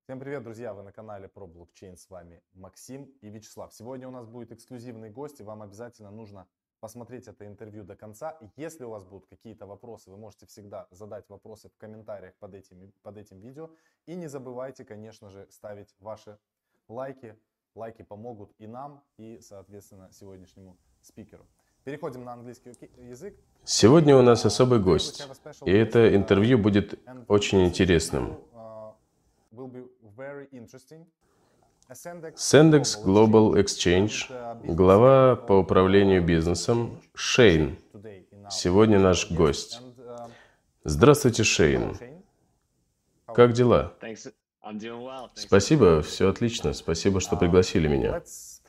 Всем привет, друзья! Вы на канале про блокчейн. С вами Максим и Вячеслав. Сегодня у нас будет эксклюзивный гость, и вам обязательно нужно посмотреть это интервью до конца. Если у вас будут какие-то вопросы, вы можете всегда задать вопросы в комментариях под этим видео. И не забывайте, конечно же, ставить ваши лайки. Лайки помогут и нам, и, соответственно, сегодняшнему спикеру. Переходим на английский язык. Сегодня у нас особый гость, и это интервью будет очень интересным. Sendex Global Exchange, глава по управлению бизнесом Шейн, сегодня наш гость. Здравствуйте, Шейн. Как дела? Спасибо, все отлично. Спасибо, что пригласили меня.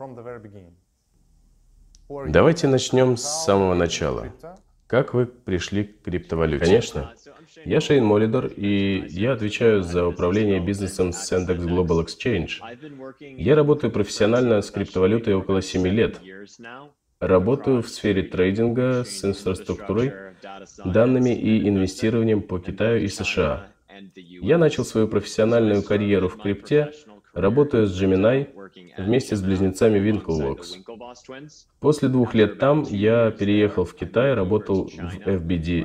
Давайте начнем с самого начала. Как вы пришли к криптовалюте? Конечно. Я Шейн Молидор, и я отвечаю за управление бизнесом Sendex Global Exchange. Я работаю профессионально с криптовалютой около 7 лет. Работаю в сфере трейдинга с инфраструктурой, данными и инвестированием по Китаю и США. Я начал свою профессиональную карьеру в крипте, работая с Gemini вместе с близнецами Winklevoss. После 2 лет там я переехал в Китай, работал в FBG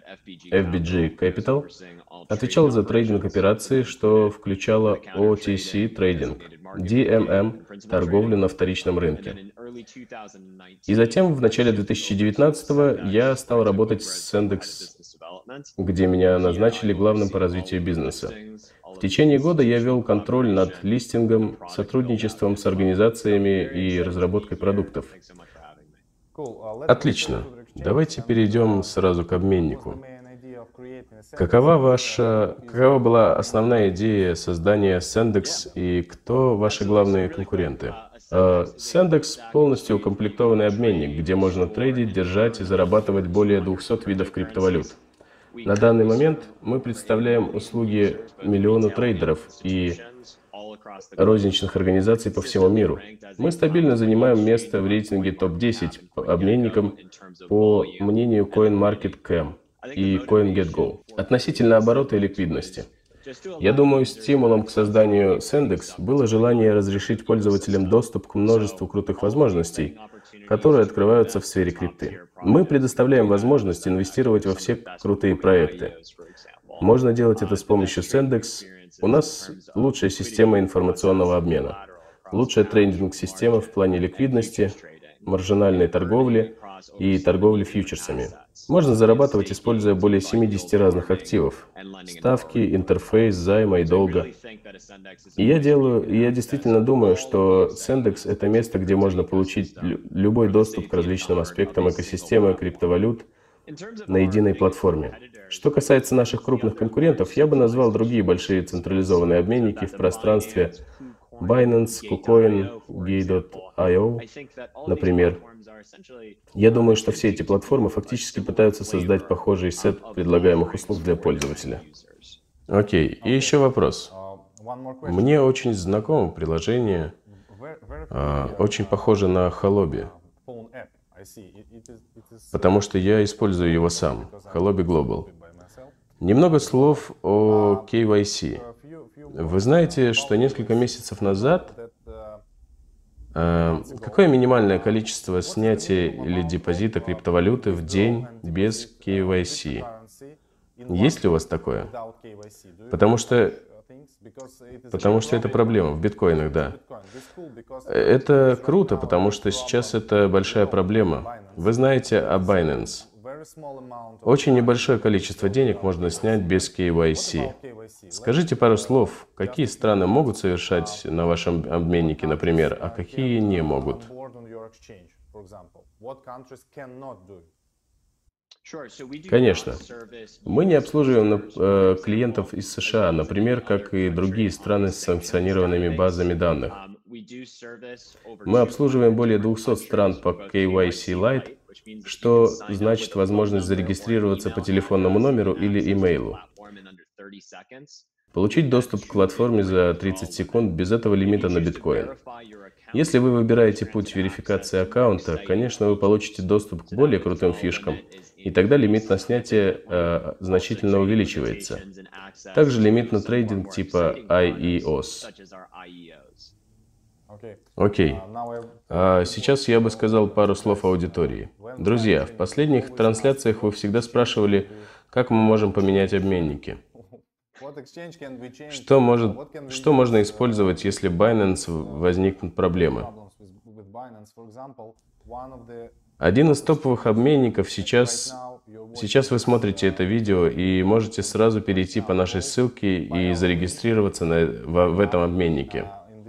Capital, отвечал за трейдинг операций, что включало OTC трейдинг, DMM, торговлю на вторичном рынке. И затем в начале 2019-го я стал работать с Sendex, где меня назначили главным по развитию бизнеса. В течение года я вел контроль над листингом, сотрудничеством с организациями и разработкой продуктов. Отлично. Давайте перейдем сразу к обменнику. Какова была основная идея создания Sendex и кто ваши главные конкуренты? Sendex полностью укомплектованный обменник, где можно трейдить, держать и зарабатывать более 200 видов криптовалют. На данный момент мы представляем услуги миллиону трейдеров и розничных организаций по всему миру. Мы стабильно занимаем место в рейтинге топ-10 по обменникам по мнению CoinMarketCap и CoinGetGo относительно оборота и ликвидности. Я думаю, стимулом к созданию Sendex было желание разрешить пользователям доступ к множеству крутых возможностей, которые открываются в сфере крипты. Мы предоставляем возможность инвестировать во все крутые проекты. Можно делать это с помощью Sendex. У нас лучшая система информационного обмена, лучшая трейдинг-система в плане ликвидности, маржинальной торговли и торговли фьючерсами. Можно зарабатывать, используя более 70 разных активов. Ставки, интерфейс, займа и долга. И я действительно думаю, что Sendex — это место, где можно получить любой доступ к различным аспектам экосистемы криптовалют на единой платформе. Что касается наших крупных конкурентов, я бы назвал другие большие централизованные обменники в пространстве Binance, KuCoin, Gate.io, например. Я думаю, что все эти платформы фактически пытаются создать похожий сет предлагаемых услуг для пользователя. Окей, и еще вопрос. Мне очень знакомо приложение, очень похоже на Huobi, потому что я использую его сам, Huobi Global. Немного слов о KYC. Вы знаете, что несколько месяцев назад какое минимальное количество снятия или депозита криптовалюты в день без KYC? Есть ли у вас такое? Потому что это проблема в биткоинах, да. Это круто, потому что сейчас это большая проблема. Вы знаете о Binance. Очень небольшое количество денег можно снять без KYC. Скажите пару слов, какие страны могут совершать на вашем обменнике, например, а какие не могут? Конечно. Мы не обслуживаем клиентов из США, например, как и другие страны с санкционированными базами данных. Мы обслуживаем более 200 стран по KYC Lite, что значит возможность зарегистрироваться по телефонному номеру или имейлу. Получить доступ к платформе за 30 секунд без этого лимита на биткоин. Если вы выбираете путь верификации аккаунта, конечно, вы получите доступ к более крутым фишкам, и тогда лимит на снятие значительно увеличивается. Также лимит на трейдинг типа IEOS. Окей. А сейчас я бы сказал пару слов аудитории. Друзья, в последних трансляциях вы всегда спрашивали, как мы можем поменять обменники. Что можно использовать, если Binance возникнут проблемы? Один из топовых обменников сейчас вы смотрите это видео и можете сразу перейти по нашей ссылке и зарегистрироваться в этом обменнике.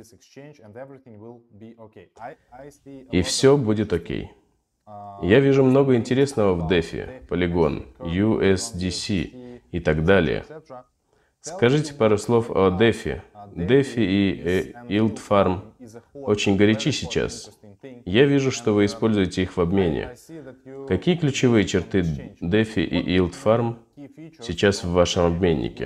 И все будет окей. Я вижу много интересного в DeFi, Polygon, USDC и так далее. Скажите пару слов о DeFi. DeFi и Yield Farm очень горячи сейчас. Я вижу, что вы используете их в обмене. Какие ключевые черты DeFi и Yield Farm сейчас в вашем обменнике?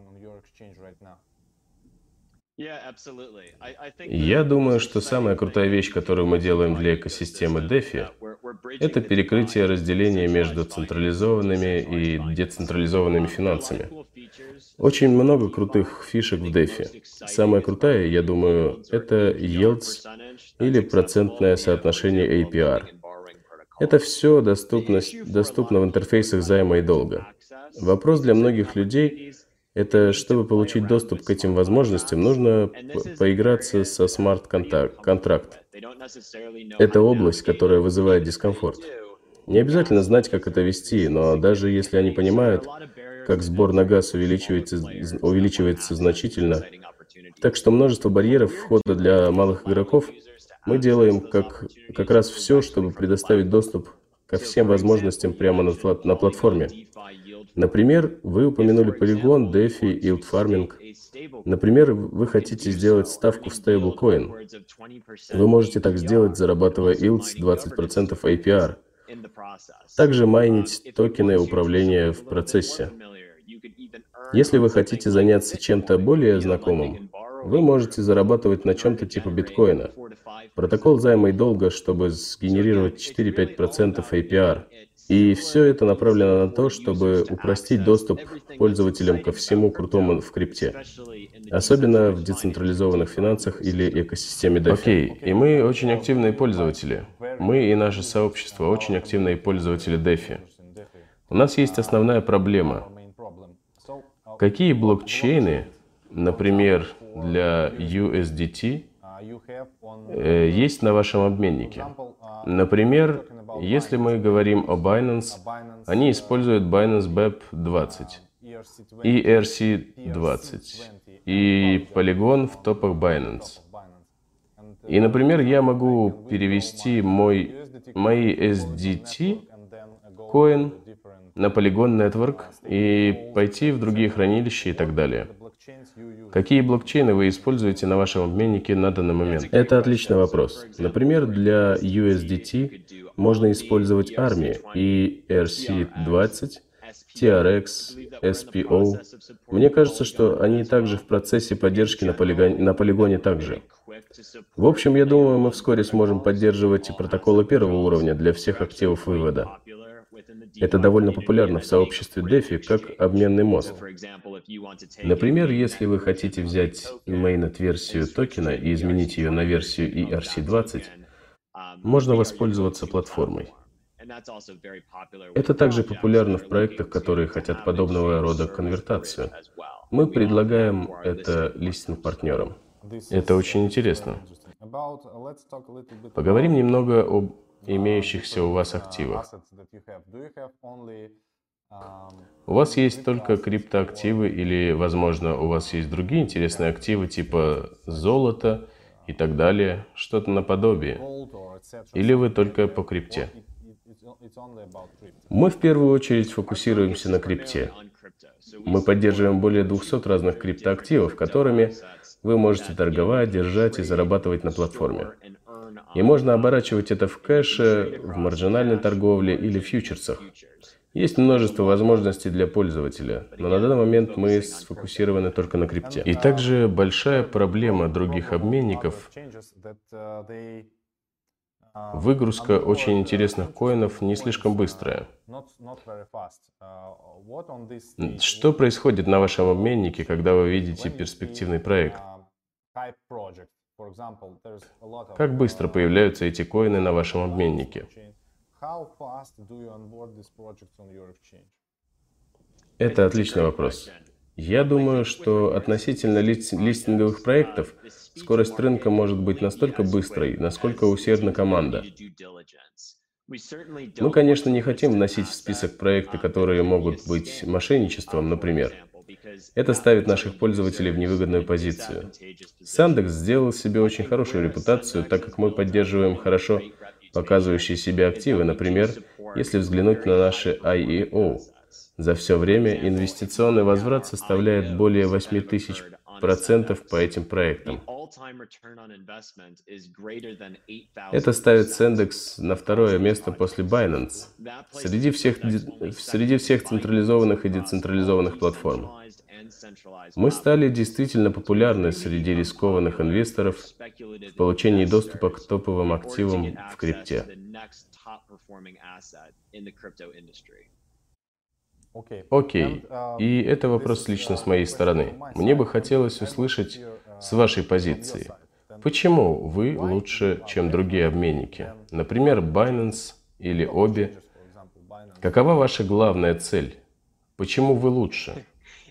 Я думаю, что самая крутая вещь, которую мы делаем для экосистемы DeFi, это перекрытие разделения между централизованными и децентрализованными финансами. Очень много крутых фишек в DeFi. Самая крутая, я думаю, это yields или процентное соотношение APR. Это все доступно в интерфейсах займа и долга. Вопрос для многих людей – это, чтобы получить доступ к этим возможностям, нужно поиграться со смарт-контракт. Это область, которая вызывает дискомфорт. Не обязательно знать, как это вести, но даже если они понимают, как сбор на газ увеличивается значительно, так что множество барьеров входа для малых игроков, мы делаем как раз все, чтобы предоставить доступ ко всем возможностям прямо на платформе. Например, вы упомянули Polygon, DeFi, Yield Farming. Например, вы хотите сделать ставку в стейблкоин. Вы можете так сделать, зарабатывая yields 20% APR. Также майнить токены управления в процессе. Если вы хотите заняться чем-то более знакомым, вы можете зарабатывать на чем-то типа биткоина. Протокол займа и долга, чтобы сгенерировать 4-5% APR. И все это направлено на то, чтобы упростить доступ пользователям ко всему крутому в крипте. Особенно в децентрализованных финансах или экосистеме DeFi. Окей, и мы очень активные пользователи. Мы и наше сообщество очень активные пользователи DeFi. У нас есть основная проблема. Какие блокчейны, например, для USDT, есть на вашем обменнике? Например, если мы говорим о Binance, они используют Binance BEP20, ERC20 и Polygon в топах Binance. И, например, я могу перевести мои SDT коин на Polygon Network и пойти в другие хранилища и так далее. Какие блокчейны вы используете на вашем обменнике на данный момент? Это отличный вопрос. Например, для USDT можно использовать ARMI и ERC20, TRX, SPO. Мне кажется, что они также в процессе поддержки на полигоне также. В общем, я думаю, мы вскоре сможем поддерживать и протоколы первого уровня для всех активов вывода. Это довольно популярно в сообществе DeFi как обменный мост. Например, если вы хотите взять mainnet-версию токена и изменить ее на версию ERC20, можно воспользоваться платформой. Это также популярно в проектах, которые хотят подобного рода конвертацию. Мы предлагаем это листинг-партнерам. Это очень интересно. Поговорим немного об имеющихся у вас активах. У вас есть только криптоактивы или, возможно, у вас есть другие интересные активы типа золото и так далее, что-то наподобие? Или вы только по крипте? Мы в первую очередь фокусируемся на крипте. Мы поддерживаем более 200 разных криптоактивов, которыми вы можете торговать, держать и зарабатывать на платформе. И можно оборачивать это в кэше, в маржинальной торговле или фьючерсах. Есть множество возможностей для пользователя, но на данный момент мы сфокусированы только на крипте. И также большая проблема других обменников — выгрузка очень интересных коинов не слишком быстрая. Что происходит на вашем обменнике, когда вы видите перспективный проект? Как быстро появляются эти коины на вашем обменнике? Это отличный вопрос. Я думаю, что относительно листинговых проектов скорость рынка может быть настолько быстрой, насколько усердна команда. Мы, конечно, не хотим вносить в список проекты, которые могут быть мошенничеством, например. Это ставит наших пользователей в невыгодную позицию. Sandex сделал себе очень хорошую репутацию, так как мы поддерживаем хорошо показывающие себя активы, например, если взглянуть на наши IEO. За все время инвестиционный возврат составляет более 8000% по этим проектам. Это ставит Sandex на второе место после Binance среди всех централизованных и децентрализованных платформ. Мы стали действительно популярны среди рискованных инвесторов в получении доступа к топовым активам в крипте. Окей, и это вопрос лично с моей стороны. Мне бы хотелось услышать с вашей позиции, почему вы лучше, чем другие обменники, например, Binance или Obi? Какова ваша главная цель? Почему вы лучше?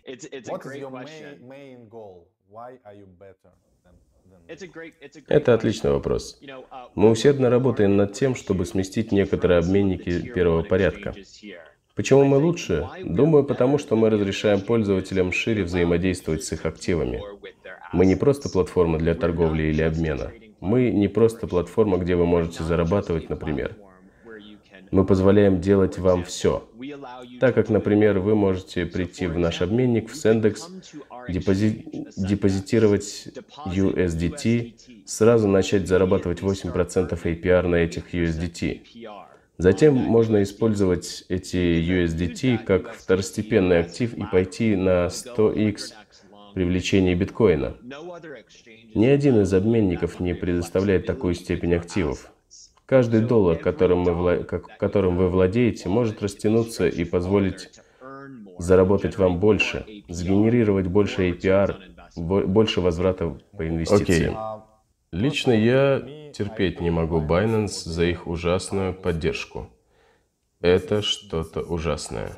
Это отличный вопрос. Мы усердно работаем над тем, чтобы сместить некоторые обменники первого порядка. Почему мы лучше? Думаю, потому что мы разрешаем пользователям шире взаимодействовать с их активами. Мы не просто платформа для торговли или обмена. Мы не просто платформа, где вы можете зарабатывать, например. Мы позволяем делать вам все. Так как, например, вы можете прийти в наш обменник в Sandex, депозитировать USDT, сразу начать зарабатывать 8% APR на этих USDT. Затем можно использовать эти USDT как второстепенный актив и пойти на 100x привлечение биткоина. Ни один из обменников не предоставляет такую степень активов. Каждый доллар, которым вы владеете, может растянуться и позволить заработать вам больше, сгенерировать больше APR, больше возврата по инвестициям. Лично я терпеть не могу Binance за их ужасную поддержку. Это что-то ужасное.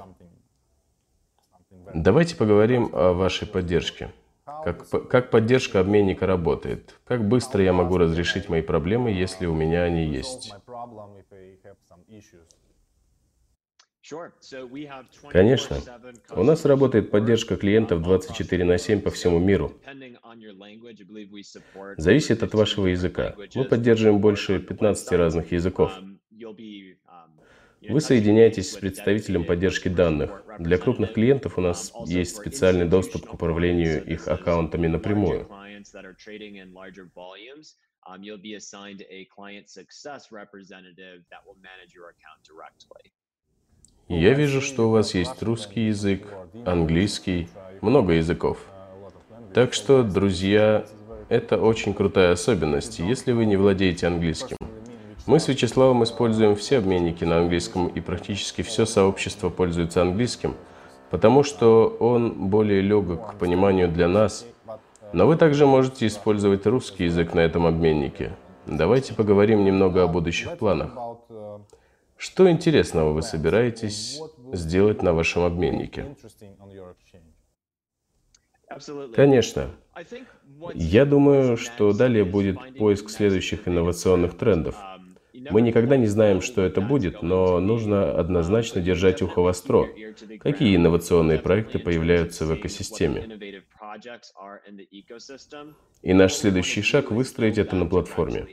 Давайте поговорим о вашей поддержке. Как поддержка обменника работает? Как быстро я могу разрешить мои проблемы, если у меня они есть? Конечно. У нас работает поддержка клиентов 24/7 по всему миру. Зависит от вашего языка. Мы поддерживаем больше 15 разных языков. Вы соединяетесь с представителем поддержки данных. Для крупных клиентов у нас есть специальный доступ к управлению их аккаунтами напрямую. Я вижу, что у вас есть русский язык, английский, много языков. Так что, друзья, это очень крутая особенность, если вы не владеете английским. Мы с Вячеславом используем все обменники на английском, и практически все сообщество пользуется английским, потому что он более легок к пониманию для нас. Но вы также можете использовать русский язык на этом обменнике. Давайте поговорим немного о будущих планах. Что интересного вы собираетесь сделать на вашем обменнике? Конечно. Я думаю, что далее будет поиск следующих инновационных трендов. Мы никогда не знаем, что это будет, но нужно однозначно держать ухо востро. Какие инновационные проекты появляются в экосистеме? И наш следующий шаг — выстроить это на платформе.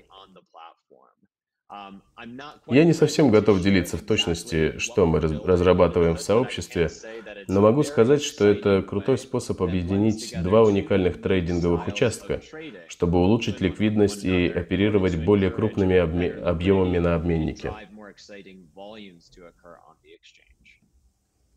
Я не совсем готов делиться в точности, что мы разрабатываем в сообществе, но могу сказать, что это крутой способ объединить два уникальных трейдинговых участка, чтобы улучшить ликвидность и оперировать более крупными объемами на обменнике.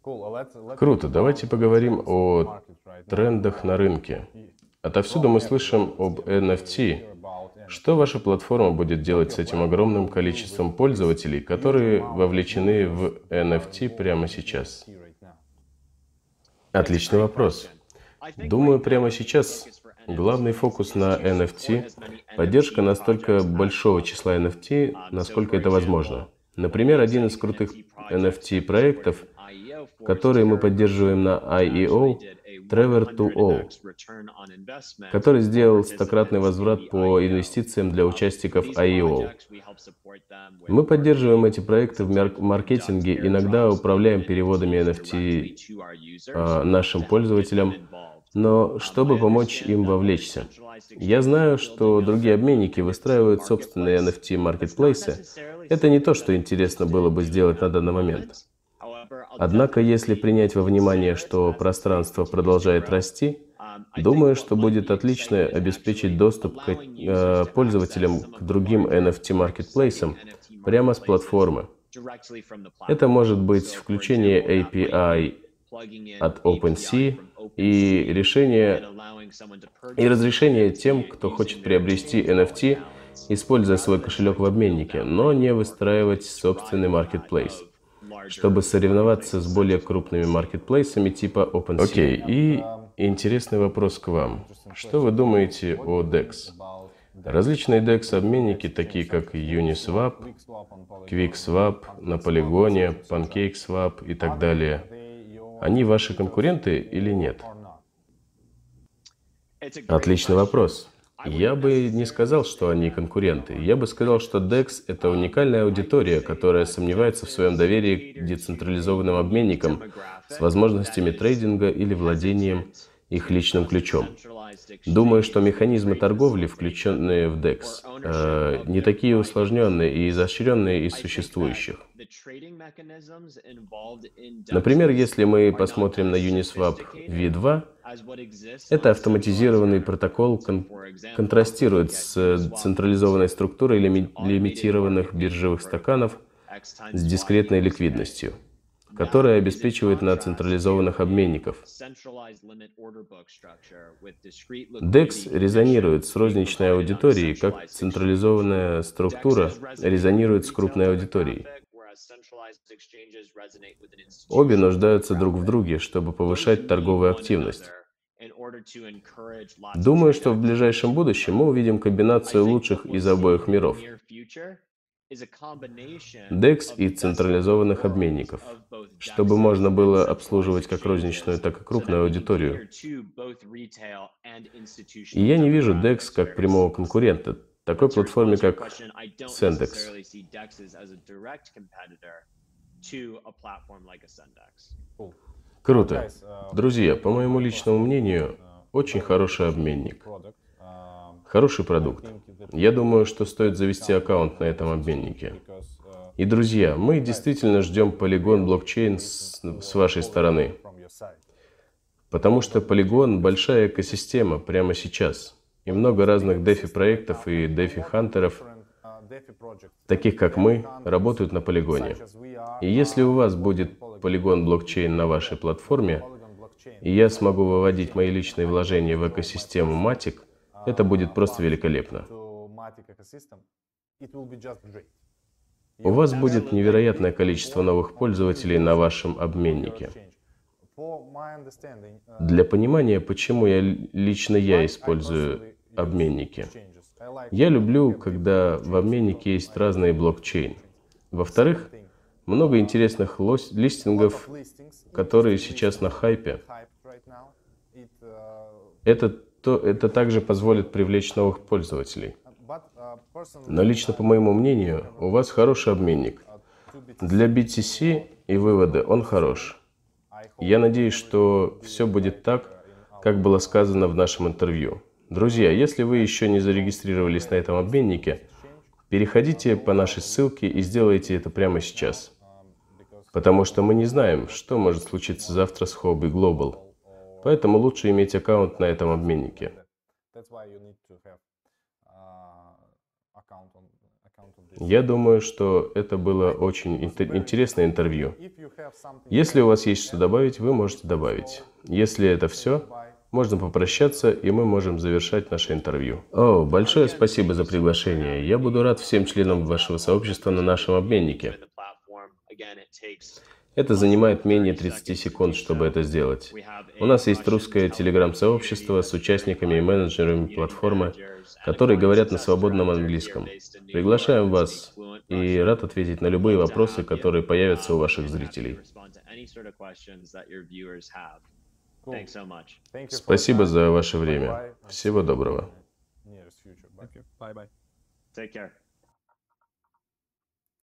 Круто, давайте поговорим о трендах на рынке. Отовсюду мы слышим об NFT. Что ваша платформа будет делать с этим огромным количеством пользователей, которые вовлечены в NFT прямо сейчас? Отличный вопрос. Думаю, прямо сейчас главный фокус на NFT – поддержка настолько большого числа NFT, насколько это возможно. Например, один из крутых NFT-проектов, который мы поддерживаем на IEO, Trevor to All, который сделал стократный возврат по инвестициям для участников IEO. Мы поддерживаем эти проекты в маркетинге, иногда управляем переводами NFT нашим пользователям, но чтобы помочь им вовлечься. Я знаю, что другие обменники выстраивают собственные NFT-маркетплейсы. Это не то, что интересно было бы сделать на данный момент. Однако, если принять во внимание, что пространство продолжает расти, думаю, что будет отлично обеспечить доступ к пользователям к другим NFT-маркетплейсам прямо с платформы. Это может быть включение API от OpenSea и разрешение тем, кто хочет приобрести NFT, используя свой кошелек в обменнике, но не выстраивать собственный маркетплейс, чтобы соревноваться с более крупными маркетплейсами типа OpenSea. Окей, и интересный вопрос к вам. Что вы думаете о DEX? Различные DEX-обменники, такие как Uniswap, QuickSwap, на Полигоне, PancakeSwap и так далее, они ваши конкуренты или нет? Отличный вопрос. Я бы не сказал, что они конкуренты. Я бы сказал, что DEX – это уникальная аудитория, которая сомневается в своем доверии к децентрализованным обменникам с возможностями трейдинга или владением их личным ключом. Думаю, что механизмы торговли, включенные в DEX, не такие усложненные и изощренные из существующих. Например, если мы посмотрим на Uniswap V2, это автоматизированный протокол контрастирует с централизованной структурой лимитированных биржевых стаканов с дискретной ликвидностью, которая обеспечивает на централизованных обменников. DEX резонирует с розничной аудиторией, как централизованная структура резонирует с крупной аудиторией. Обе нуждаются друг в друге, чтобы повышать торговую активность. Думаю, что в ближайшем будущем мы увидим комбинацию лучших из обоих миров. DEX и централизованных обменников, чтобы можно было обслуживать как розничную, так и крупную аудиторию. И я не вижу DEX как прямого конкурента такой платформе, как Sendex. Круто. Друзья, по моему личному мнению, очень хороший обменник. Хороший продукт. Я думаю, что стоит завести аккаунт на этом обменнике. И, друзья, мы действительно ждем Polygon блокчейн с вашей стороны. Потому что Polygon – большая экосистема прямо сейчас. И много разных DeFi-проектов и DeFi-хантеров, таких как мы, работают на Полигоне. И если у вас будет Polygon блокчейн на вашей платформе, и я смогу выводить мои личные вложения в экосистему Matic, это будет просто великолепно. У вас будет невероятное количество новых пользователей на вашем обменнике. Для понимания, почему лично я использую обменники. Я люблю, когда в обменнике есть разные блокчейны. Во-вторых, много интересных листингов, которые сейчас на хайпе. Это также позволит привлечь новых пользователей. Но лично по моему мнению, у вас хороший обменник. Для BTC и вывода он хорош. Я надеюсь, что все будет так, как было сказано в нашем интервью. Друзья, если вы еще не зарегистрировались на этом обменнике, переходите по нашей ссылке и сделайте это прямо сейчас. Потому что мы не знаем, что может случиться завтра с Huobi Global. Поэтому лучше иметь аккаунт на этом обменнике. Я думаю, что это было очень интересное интервью. Если у вас есть что добавить, вы можете добавить. Если это все, можно попрощаться, и мы можем завершать наше интервью. О, большое спасибо за приглашение. Я буду рад всем членам вашего сообщества на нашем обменнике. Это занимает менее 30 секунд, чтобы это сделать. У нас есть русское телеграм-сообщество с участниками и менеджерами платформы, которые говорят на свободном английском. Приглашаем вас и рад ответить на любые вопросы, которые появятся у ваших зрителей. Спасибо за ваше время. Всего доброго. Bye bye. Take care.